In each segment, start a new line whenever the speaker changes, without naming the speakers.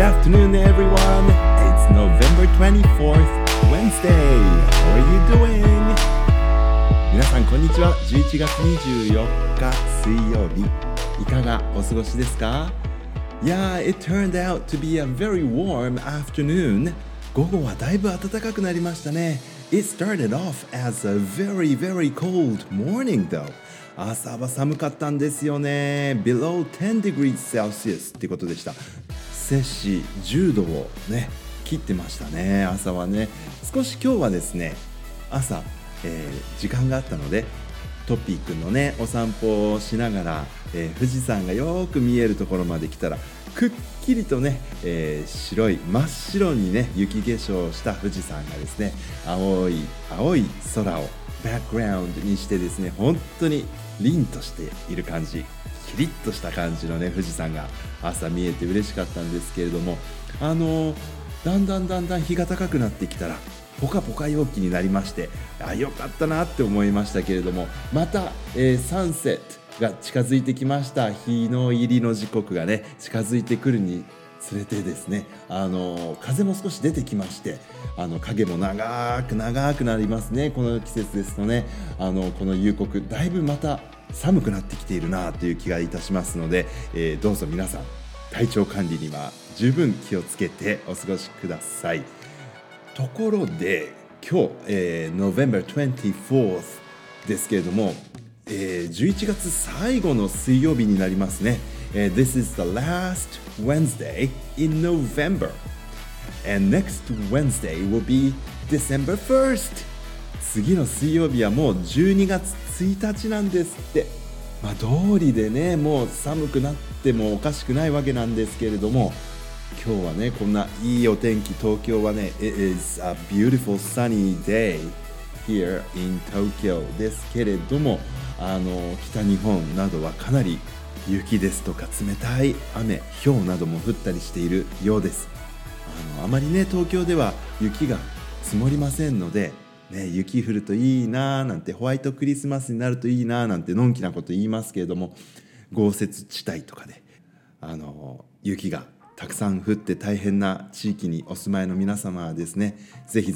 afternoon, everyone. It's November 24th, Wednesday. How are you doing? 皆さん、こんにちは。11月24日水曜日。いかがお過ごしですか？ Yeah, it turned out to be a very warm afternoon. 午後はだいぶ暖かくなりましたね。It started off as a very, very cold morning, though. 朝は寒かったんですよね。Below 10 degrees Celsius ってことでした。摂氏10度をね切ってましたね。朝はね少し今日はですね朝、時間があったのでトッピーくんのねお散歩をしながら、富士山がよく見えるところまで来たらくっきりとね、真っ白にね雪化粧した富士山がですね青い空をバックグラウンドにしてですね本当に凛としている感じ、キリッとした感じのね富士山が朝見えて嬉しかったんですけれども、だんだん日が高くなってきたらポカポカ陽気になりまして、よかったなって思いましたけれども、また、サンセットが近づいてきました。日の入りの時刻がね近づいてくるにつれてですね、風も少し出てきまして、影も長くなりますね。この季節ですとね、この夕刻だいぶまた寒くなってきているなという気がいたしますので、どうぞ皆さん体調管理には十分気をつけてお過ごしください。ところで今日、November 24th ですけれども、11月最後の水曜日になりますね。This is the last Wednesday in November, and next Wednesday will be December 1st. 次の水曜日はもう12月1日なんですって。道理でねもう寒くなってもおかしくないわけなんですけれども、今日はねこんないいお天気、東京はね It is a beautiful sunny day here in Tokyo ですけれども、北日本などはかなり雪ですとか冷たい雨、氷なども降ったりしているようです。あまりね東京では雪が積もりませんので、ね、雪降るといいななんて、ホワイトクリスマスになるといいななんてのんきなこと言いますけれども、豪雪地帯とかで雪がたくさん降って大変な地域にお住まいの皆様はですね、ぜひ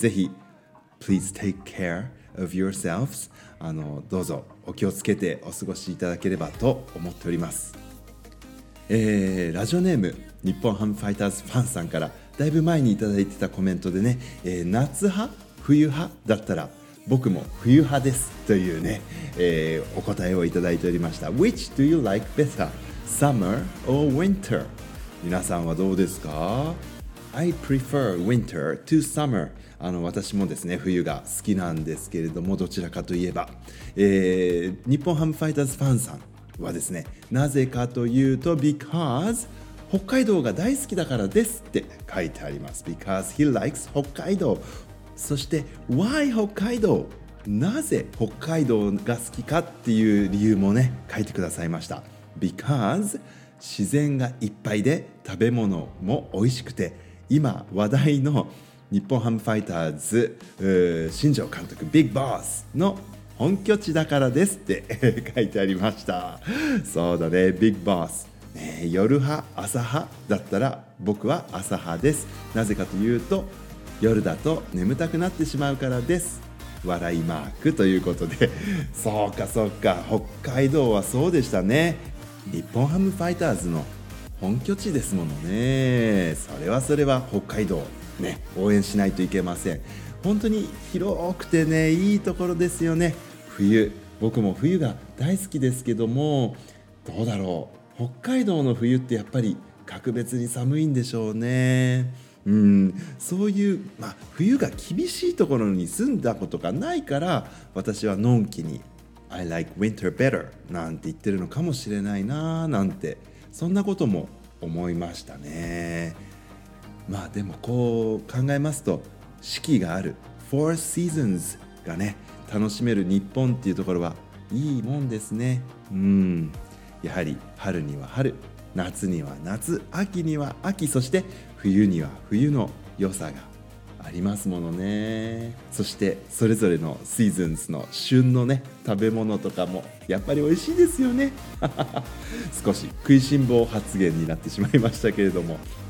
Please take care of yourselves。 どうぞお気をつけてお過ごしいただければと思っております。ラジオネーム日本ハムファイターズファンさんからだいぶ前にいただいてたコメントでね、夏派冬派だったら僕も冬派ですというね、お答えをいただいておりました。 Which do you like better? Summer or winter? 皆さんはどうですか？ I prefer winter to summer。 私もですね冬が好きなんですけれども、どちらかといえば、日本ハムファイターズファンさんはですね、なぜかというと because 北海道が大好きだからですって書いてあります。 because he likes 北海道。そして why 北海道、なぜ北海道が好きかっていう理由もね書いてくださいました。 because 自然がいっぱいで食べ物も美味しくて、今話題の日本ハムファイターズ新庄監督ビッグボスの本拠地だからですって書いてありました。そうだね、ビッグボス、夜派朝派だったら僕は朝派です。なぜかというと夜だと眠たくなってしまうからです。笑いマークということで、そうか北海道はそうでしたね。日本ハムファイターズの本拠地ですものね。それは北海道ね応援しないといけません。本当に広くてねいいところですよね。僕も冬が大好きですけども、どうだろう、北海道の冬ってやっぱり格別に寒いんでしょうね。そういう、冬が厳しいところに住んだことがないから私はのんきに I like winter better なんて言ってるのかもしれないななんて、そんなことも思いましたね。でもこう考えますと四季がある Four Seasons がね楽しめる日本っていうところはいいもんですね。やはり春には春、夏には夏、秋には秋、そして冬には冬の良さがありますものね。そしてそれぞれのシーズンズの旬のね食べ物とかもやっぱり美味しいですよね少し食いしん坊発言になってしまいましたけれども、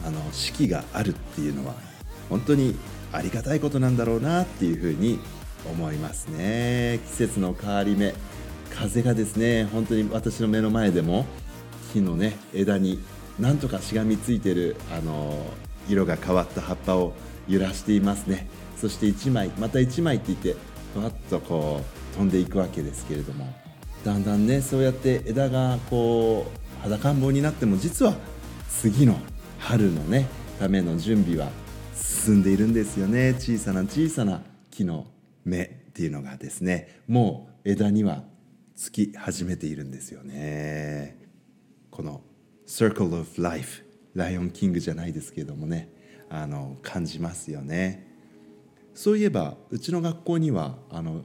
四季があるっていうのは本当にありがたいことなんだろうなっていうふうに思いますね。季節の変わり目、風がですね、本当に私の目の前でも木のね枝になんとかしがみついてる色が変わった葉っぱを揺らしていますね。そして1枚また1枚って言ってふわっとこう飛んでいくわけですけれども、だんだんねそうやって枝がこう裸ん坊になっても、実は次の春のねための準備は進んでいるんですよね。小さな小さな木の芽っていうのがですね、もう枝にはつき始めているんですよね。この Circle of Life、 ライオンキングじゃないですけれどもね、感じますよね。そういえばうちの学校には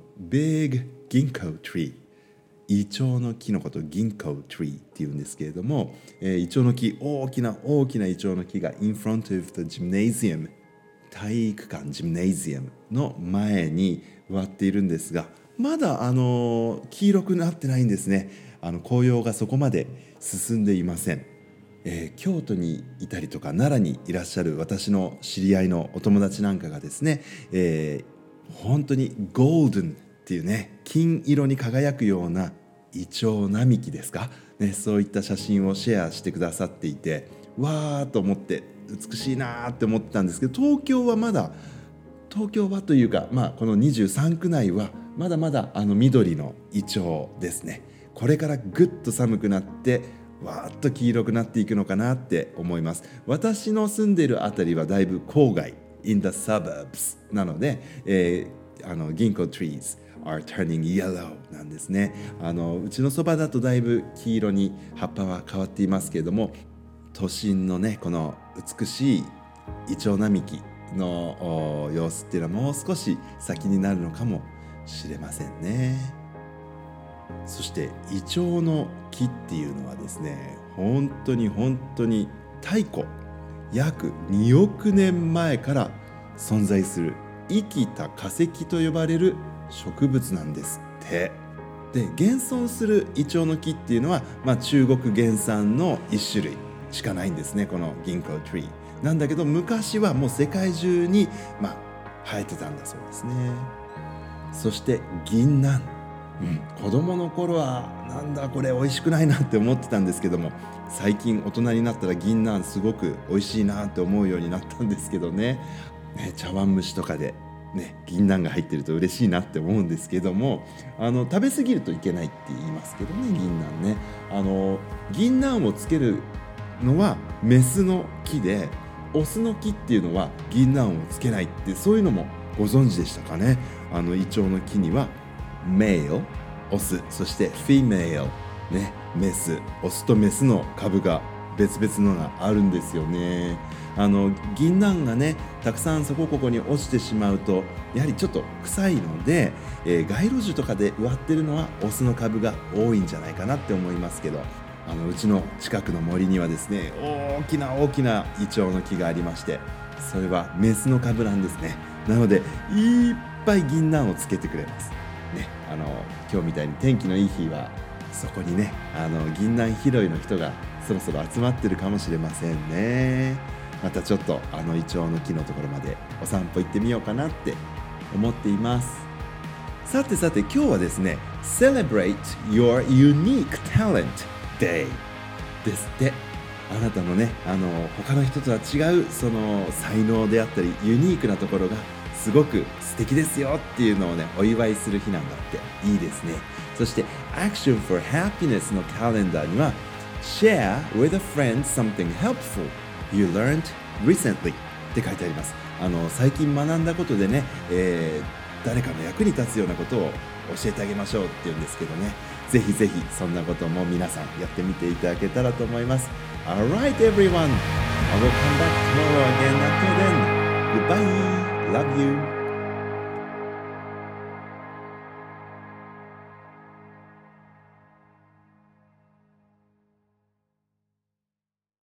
Big Ginkgo Tree、イチョウの木のことを銀行 tree っていうんですけれども、イチョウの木、大きなイチョウの木が in front of the gymnasium、 体育館ジムネイジアムの前に植わっているんですが、まだ黄色くなってないんですね。紅葉がそこまで進んでいません。京都にいたりとか奈良にいらっしゃる私の知り合いのお友達なんかがですね、本当にゴールデンっていうね、金色に輝くようなイチョウ並木ですか、ね、そういった写真をシェアしてくださっていて、わーと思って美しいなって思ってたんですけど、東京はというか、この23区内はまだまだ緑のイチョウですね。これからぐっと寒くなってわーっと黄色くなっていくのかなって思います。私の住んでいるあたりはだいぶ郊外 in the suburbs なので、銀行 trees are turning yellow なんですね。うちのそばだとだいぶ黄色に葉っぱは変わっていますけれども、都心のねこの美しいイチョウ並木の様子っていうのはもう少し先になるのかもしれませんね。そしてイチョウの木っていうのはですね、本当に太古約2億年前から存在する生きた化石と呼ばれる植物なんですって。で、現存するイチョウの木っていうのは、中国原産の一種類しかないんですね、この銀行トリーなんだけど、昔はもう世界中に、生えてたんだそうですね。そして銀杏、子供の頃はなんだこれ美味しくないなって思ってたんですけども、最近大人になったら銀杏すごく美味しいなって思うようになったんですけどね。茶碗蒸しとかで銀杏が入ってると嬉しいなって思うんですけども、食べ過ぎるといけないって言いますけどね、銀杏ね。銀杏をつけるのはメスの木で、オスの木っていうのは銀杏をつけないって、そういうのもご存知でしたかね。イチョウの木にはメイル、オス、そしてフィメイル、メス、オスとメスの株が別々のがあるんですよね。銀杏がねたくさんそこここに落ちてしまうとやはりちょっと臭いので、街路樹とかで植わってるのはオスの株が多いんじゃないかなって思いますけど、うちの近くの森にはですね、大きなイチョウの木がありまして、それはメスの株なんですね。なのでいっぱい銀杏をつけてくれますね。今日みたいに天気のいい日はそこにね銀杏拾いの人がそろそろ集まってるかもしれませんね。またちょっとイチョウの木のところまでお散歩行ってみようかなって思っています。さて今日はですね Celebrate your unique talent day ですって。あなたのね他の人とは違うその才能であったりユニークなところがすごく素敵ですよっていうのをねお祝いする日なんだって。いいですね。そして Action for Happiness のカレンダーには Share with a friend something helpful you learned recently って書いてあります。最近学んだことでね、誰かの役に立つようなことを教えてあげましょうっていうんですけどね、ぜひそんなことも皆さんやってみていただけたらと思います。 Alright everyone, I will come back tomorrow again. Until then, goodbye, love you.